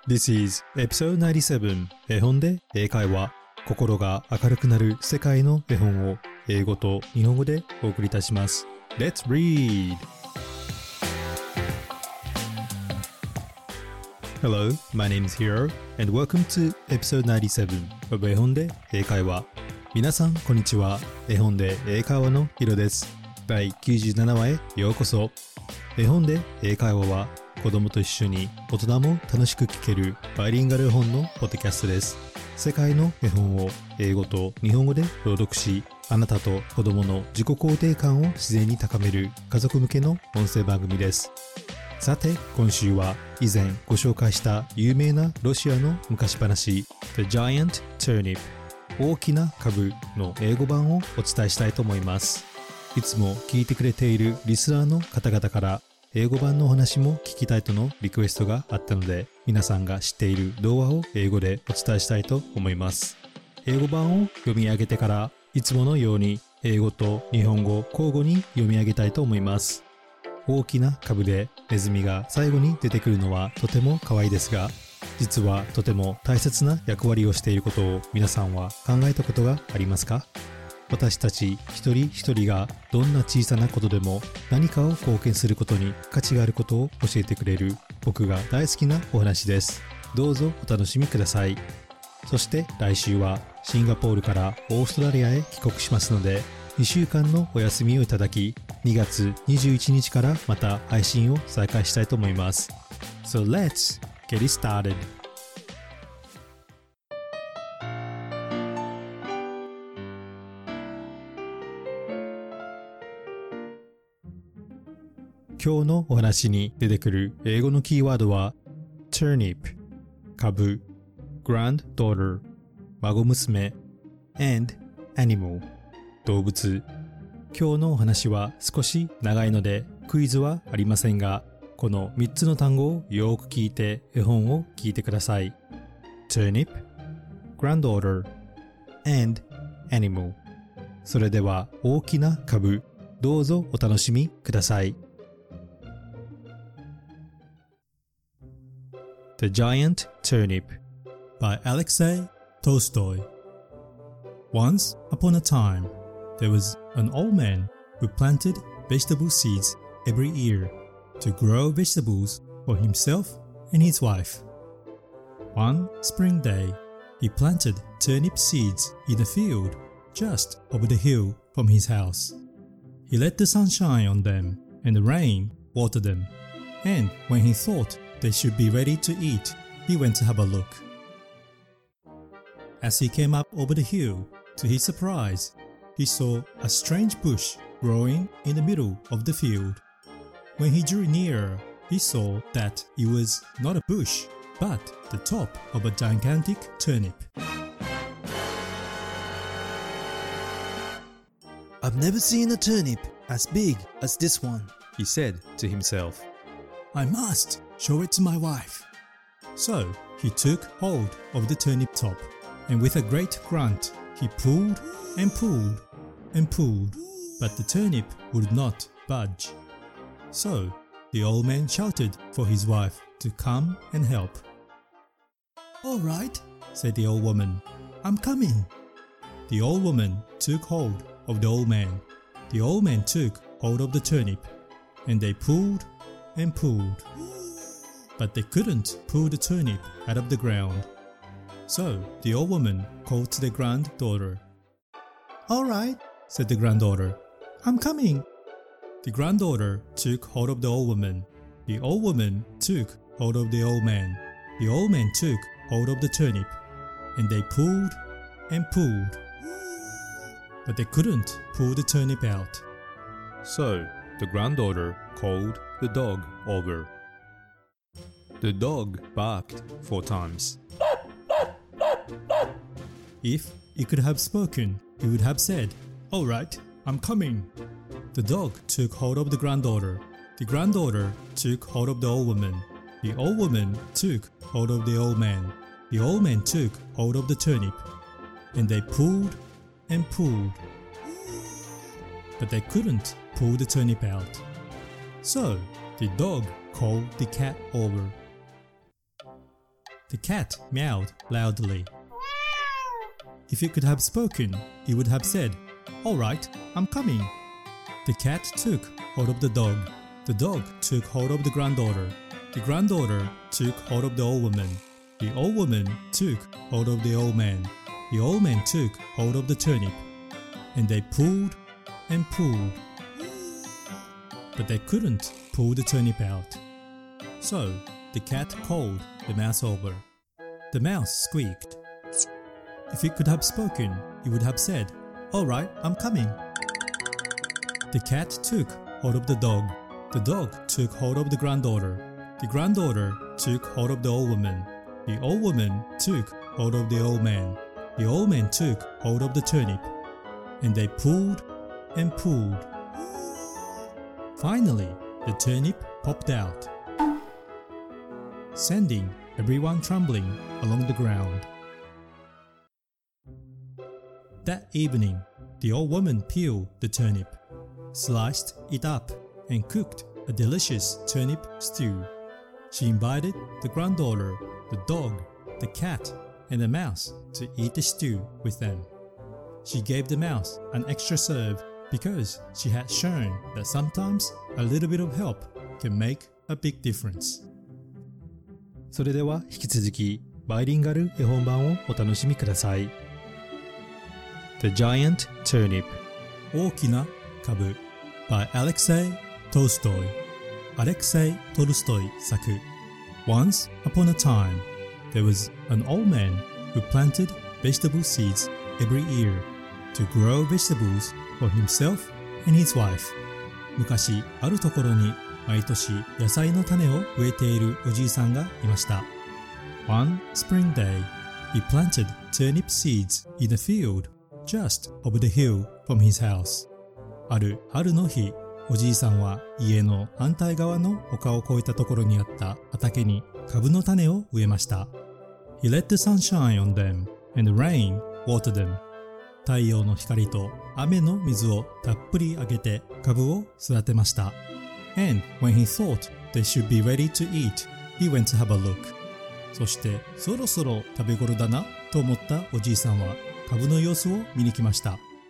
This is episode 97絵本で英会話心が明るくなる世界の絵本を英語と日本語でお送りいたします。 Let's read! Hello, my name is Hiro and welcome to episode 97 of 絵本で英会話。皆さんこんにちは。絵本で英会話のヒロです。第97話へようこそ。絵本で英会話は子供と一緒に大人も楽しく聞けるバイリンガル絵本のポッドキャストです。世界の絵本を英語と日本語で朗読し、あなたと子供の自己肯定感を自然に高める家族向けの音声番組です。さて、今週は以前ご紹介した有名なロシアの昔話 The Giant Turnip 大きな株の英語版をお伝えしたいと思います。いつも聞いてくれているリスナーの方々から英語版のお話も聞きたいとのリクエストがあったので、皆さんが知っている童話を英語でお伝えしたいと思います。英語版を読み上げてから、いつものように英語と日本語交互に読み上げたいと思います。大きな株でネズミが最後に出てくるのはとても可愛いですが、実はとても大切な役割をしていることを皆さんは考えたことがありますか？私たち一人一人がどんな小さなことでも何かを貢献することに価値があることを教えてくれる僕が大好きなお話です。どうぞお楽しみください。そして来週はシンガポールからオーストラリアへ帰国しますので、2週間のお休みをいただき、2月21日からまた配信を再開したいと思います。So let's get it started!今日のお話に出てくる英語のキーワードは turnip 株 granddaughter 孫娘 and animal 動物。今日のお話は少し長いのでクイズはありませんが、この3つの単語をよく聞いて絵本を聞いてください。 turnip granddaughter and animal。 それでは大きな株、どうぞお楽しみください。The Giant Turnip by Alexei Tolstoy. Once upon a time, there was an old man who planted vegetable seeds every year to grow vegetables for himself and his wife. One spring day, he planted turnip seeds in a field just over the hill from his house. He let the sun shine on them and the rain water them, and when he thought they should be ready to eat, he went to have a look. As he came up over the hill, to his surprise, he saw a strange bush growing in the middle of the field. When he drew nearer, he saw that it was not a bush, but the top of a gigantic turnip. I've never seen a turnip as big as this one, he said to himself. I must show it to my wife. So he took hold of the turnip top, and with a great grunt, he pulled and pulled and pulled, but the turnip would not budge. So the old man shouted for his wife to come and help. All right, said the old woman. I'm coming. The old woman took hold of the old man. The old man took hold of the turnip, and they pulled and pulled, but they couldn't pull the turnip out of the ground. So the old woman called to the granddaughter. All right, said the granddaughter. I'm coming. The granddaughter took hold of the old woman. The old woman took hold of the old man. The old man took hold of the turnip, and they pulled and pulled, but they couldn't pull the turnip out. So the granddaughter called the dog over. The dog barked 4 times. If it could have spoken, it would have said, "All right, I'm coming." The dog took hold of the granddaughter. The granddaughter took hold of the old woman. The old woman took hold of the old man. The old man took hold of the turnip, and they pulled and pulled, but they couldn't pull the turnip out. So the dog called the cat over. The cat meowed loudly. If it could have spoken, it would have said, "All right, I'm coming." The cat took hold of the dog. The dog took hold of the granddaughter. The granddaughter took hold of the old woman. The old woman took hold of the old man. The old man took hold of the turnip. And they pulled and pulled. But they couldn't pull the turnip out. So the cat called the mouse over. The mouse squeaked. If it could have spoken, it would have said, "All right, I'm coming." The cat took hold of the dog. The dog took hold of the granddaughter. The granddaughter took hold of the old woman. The old woman took hold of the old man. The old man took hold of the turnip. And they pulled and pulled. Finally, the turnip popped out, sending everyone trembling along the ground. That evening, the old woman peeled the turnip, sliced it up, and cooked a delicious turnip stew. She invited the granddaughter, the dog, the cat, and the mouse to eat the stew with them. She gave the mouse an extra serve because she had shown that sometimes a little bit of help can make a big difference. それでは引き続きバイリンガル絵本版をお楽しみください。The Giant Turnip 大きな株 by Alexei Tolstoy アレクセイ・トルストイ作 Once upon a time, there was an old man who planted vegetable seeds every year to grow vegetables for himself and his wife. 昔あるところに毎年野菜の種を植えているおじいさんがいました。One spring day, he planted turnip seeds in a field just over the hill from his house. ある春の日、おじいさんは家の反対側の丘を越えたところにあった畑に株の種を植えました。He let the sun shine on them and the rain watered them. 太陽の光と雨の水をたっぷりあげて株を育てました。And when he thought they should be ready to eat, he went to have a look. そしてそろそろ食べ頃だなと思ったおじいさんは株の様子を見に来ました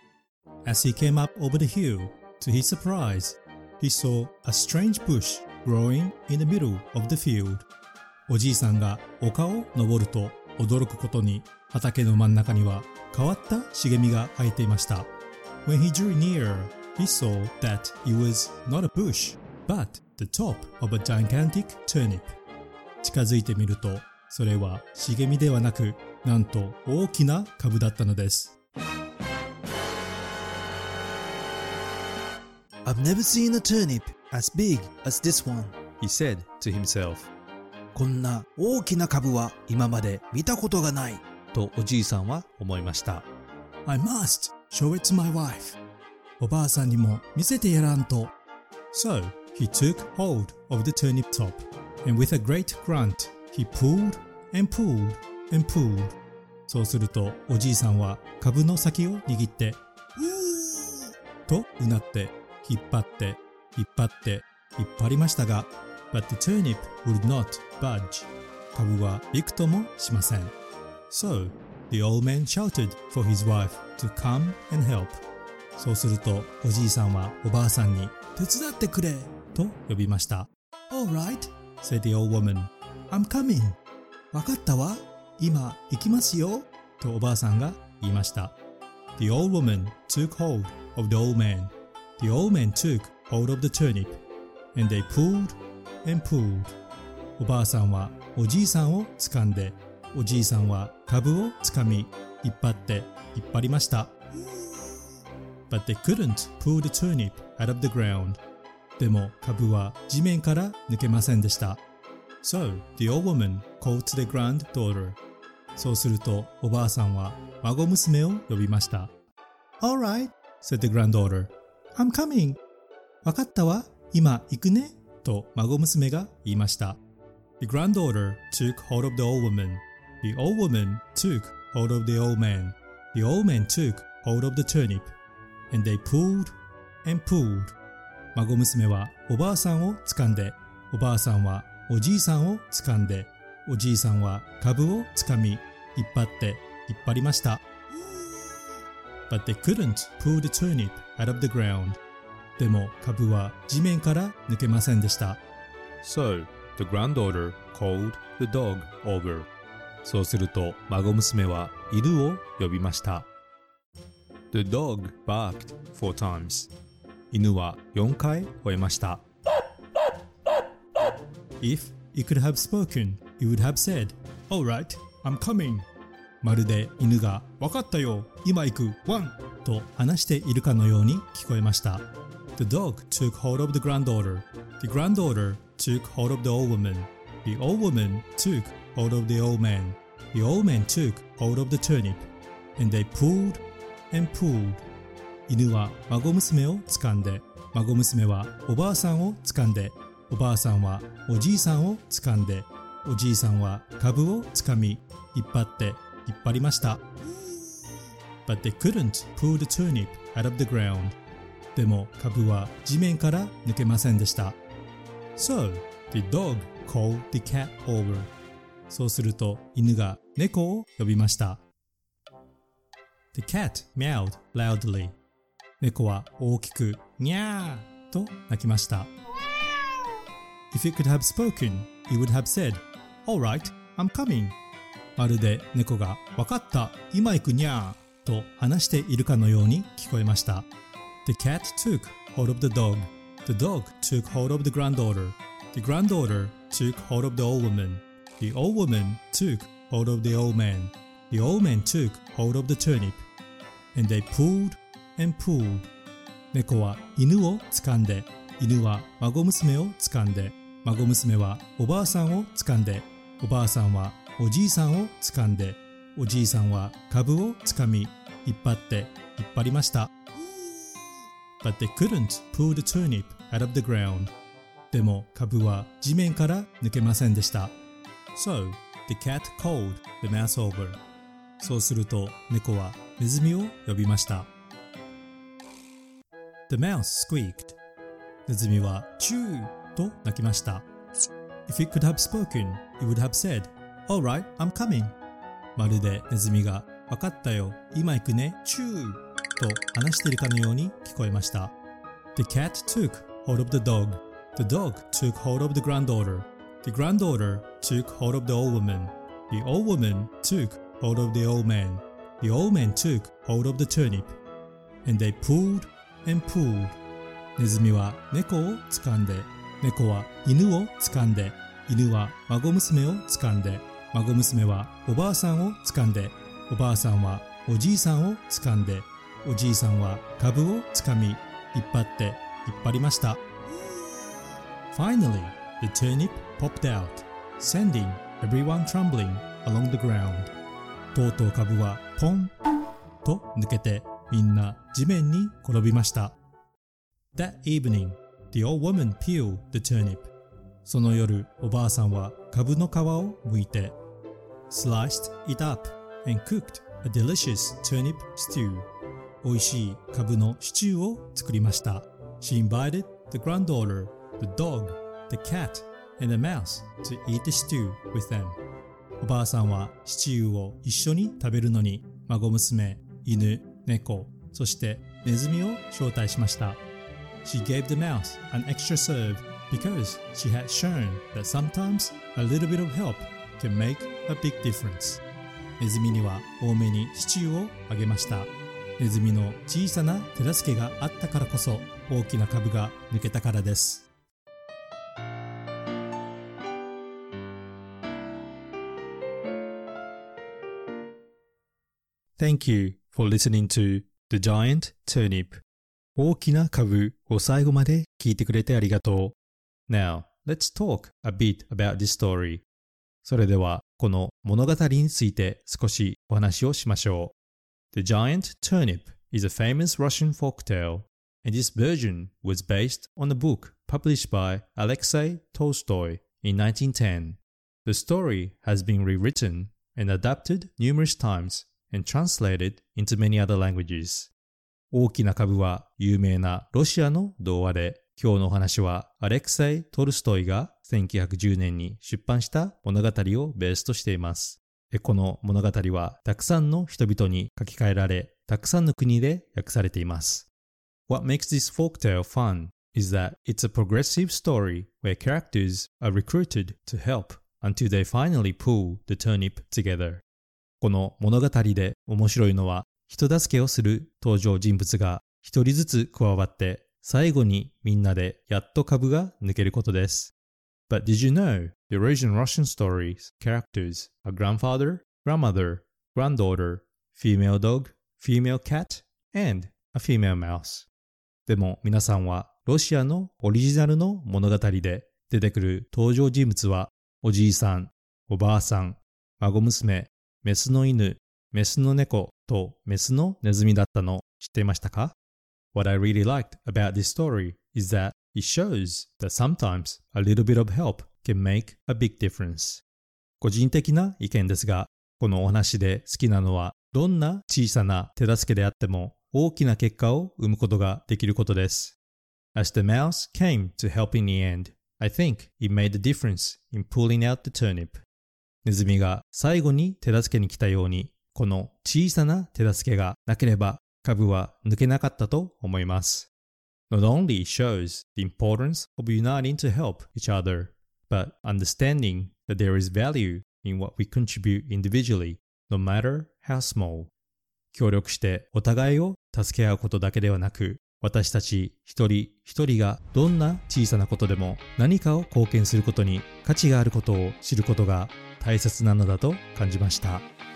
。As he came up over the hill, to his surprise, he saw a strange bush growing in the middle of the field. おじいさんが丘を登ると驚くことに畑の真ん中には変わった茂みが生えていました。When he drew near, he saw that it was not a bush, but the top of a gigantic turnip. 近づいてみると、それは茂みではなく、なんと大きな株だったのです。 I've never seen a turnip as big as this one, He said to himself. こんな大きな株は今まで見たことがない。 とおじいさんは思いました。 I must show it to my wife. おばあさんにも見せてやらんと。 So he took hold of the turnip top, and with a great grunt, he pulled and pulled and pulled. そうするとおじいさんは株の先を握って、とうなって引っ張って引っ張って引っ張りましたが、But the turnip would not budge. 株はびくともしません。So the old man shouted for his wife to come and help. そうするとおじいさんはおばあさんに手伝ってくれと呼びました。 Alright, said the old woman. I'm coming. わかったわ。今行きますよ。 とおばあさんが言いました。The old woman took hold of the old man. The old man took hold of the turnip. And they pulled and pulled. おばあさんはおじいさんを掴んで、おじいさんは株を掴み、引っ張って引っ張りました。But they couldn't pull the turnip out of the ground. でも株は地面から抜けませんでした。So the old woman called to the granddaughter. そうするとおばあさんは孫娘を呼びました。 Alright, said the granddaughter. I'm coming. わかったわ。今行くね。と孫娘が言いました。The granddaughter took hold of the old woman. The old woman took hold of the old man. The old man took hold of the turnip. And they pulled and pulled. 孫娘はおばあさんを掴んで、おばあさんはおじいさんを掴んで、 おじいさんは株をつかみ、引っ張りました。But they couldn't pull the turnip out of the ground. でも株は地面から抜けませんでした。 So, the granddaughter called the dog over. そうすると孫娘は犬を呼びました。The dog barked 4 times. 犬は4回吠えました。 If it could have spoken, it would have said, All right, I'm coming. まるで犬がわかったよ、今行く、ワンと話しているかのように聞こえました。The dog took hold of the granddaughter. The granddaughter took hold of the old woman. The old woman took hold of the old man. The old man took hold of the turnip. And they pulled and pulled. 犬は孫娘を掴んで、孫娘はおばあさんを掴んで、おばあさんはおじいさんを掴んで、おじいさんは株を掴み、引っ張りました。But they couldn't pull the turnip out of the ground. でも株は地面から抜けませんでした。So, the dog called the cat over. そうすると犬が猫を呼びました。The cat meowed loudly. 猫は大きくニャーと鳴きました。If it could have spoken, it would have said, All right, I'm coming. まるで猫がわかった、今行くにゃーと話しているかのように聞こえました。The cat took hold of the dog. The dog took hold of the granddaughter. The granddaughter took hold of the old woman. The old woman took hold of the old man. The old man took hold of the turnip. And they pulled and pulled. 猫は犬を掴んで、犬は孫娘を掴んで、孫娘はおばあさんを掴んで、おばあさんはおじいさんを掴んで、おじいさんは株を掴み、引っ張りました。But they couldn't pull the turnip out of the ground. でも株は地面から抜けませんでした。So, the cat called the mouse over. そうすると猫はネズミを呼びました。The mouse squeaked. ネズミはチューと鳴きました。If it could have spoken, it would have said, All right, I'm coming. まるでネズミがわかったよ、今行くね、チューと話しているかのように聞こえました。The cat took hold of the dog. The dog took hold of the granddaughter. The granddaughter took hold of the old woman. The old woman took hold of the old man. The old man took hold of the turnip. And they pulled and pulled. ネズミは猫を掴んで、猫は犬を掴んで、犬は孫娘を掴んで、孫娘はおばあさんを掴んで、おばあさんはおじいさんを掴んで、おじいさんは株を掴み、引っ張りました。Finally, the turnip popped out, sending everyone trembling along the ground. とうとう株はポンと抜けて、みんな地面に転びました。That evening, the old woman peeled the turnip. その夜、おばあさんは株の皮を剥いて、sliced it up and cooked a delicious turnip stew. 美味しい株のシチューを作りました。She invited the granddaughter, the dog, the cat, and the mouse to eat the stew with them. おばあさんはシチューを一緒に食べるのに、孫娘、犬、猫、そしてネズミを招待しました。She gave the mouse an extra serve because she had shown that sometimes a little bit of help can make a big difference. ネズミには多めにシチューをあげました。ネズミの小さな手助けがあったからこそ大きな株が抜けたからです。 Thank you for listening to The Giant Turnip. 大きな株を最後まで聞いてくれてありがとう。Now, let's talk a bit about this story. それではこの物語について少しお話をしましょう。The Giant Turnip is a famous Russian folktale, and this version was based on a book published by Alexei Tolstoy in 1910. The story has been rewritten and adapted numerous times and translated into many other languages. 大きな株は有名なロシアの童話で、今日のお話はアレクセイ・トルストイが 1910年に出版した物語をベースとしています。この物語はたくさんの人々に書き換えられ、たくさんの国で訳されています。What makes this folktale fun is that it's a progressive story where characters are recruited to help until they finally pull the turnip together. この物語で面白いのは、人助けをする登場人物が一人ずつ加わって、最後にみんなでやっと株が抜けることです。But did you know the original Russian stories characters are grandfather, grandmother, granddaughter, female dog, female cat, and a female mouse? でも皆さんはロシアのオリジナルの物語で出てくる登場人物はおじいさん、おばあさん、孫娘、メスの犬、メスの猫とメスのネズミだったの知っていましたか？ What I really liked about this story is that it shows that sometimes a little bit of help can make a big difference. 個人的な意見ですが、このお話で好きなのは、どんな小さな手助けであっても大きな結果を生むことができることです。As the mouse came to help in the end, I think it made a difference in pulling out the turnip. ネズミが最後に手助けに来たように、この小さな手助けがなければ株は抜けなかったと思います。Not only shows the importance of uniting to help each other, but understanding that there is value in what we contribute individually, no matter how small. 協力してお互いを助け合うことだけではなく、私たち一人一人がどんな小さなことでも何かを貢献することに価値があることを知ることが大切なのだと感じました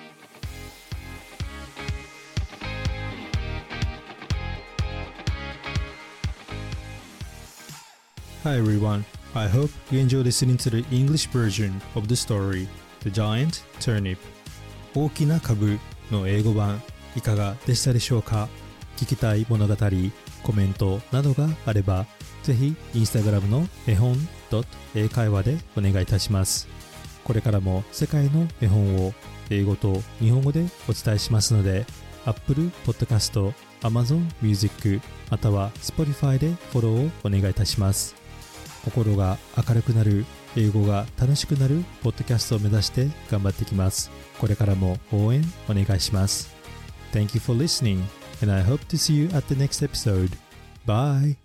。Hi everyone, I hope you enjoy listening to the English version of the story, The Giant Turnip. 大きな株の英語版いかがでしたでしょうか？聞きたい物語、コメントなどがあれば、ぜひインスタグラムの絵本英会話でお願いいたします。これからも世界の絵本を英語と日本語でお伝えしますので、Apple Podcast、Amazon Music または Spotify でフォローをお願いいたします。心が明るくなる、英語が楽しくなるポッドキャストを目指して頑張っていきます。これからも応援お願いします。Thank you for listening, and I hope to see you at the next episode. Bye!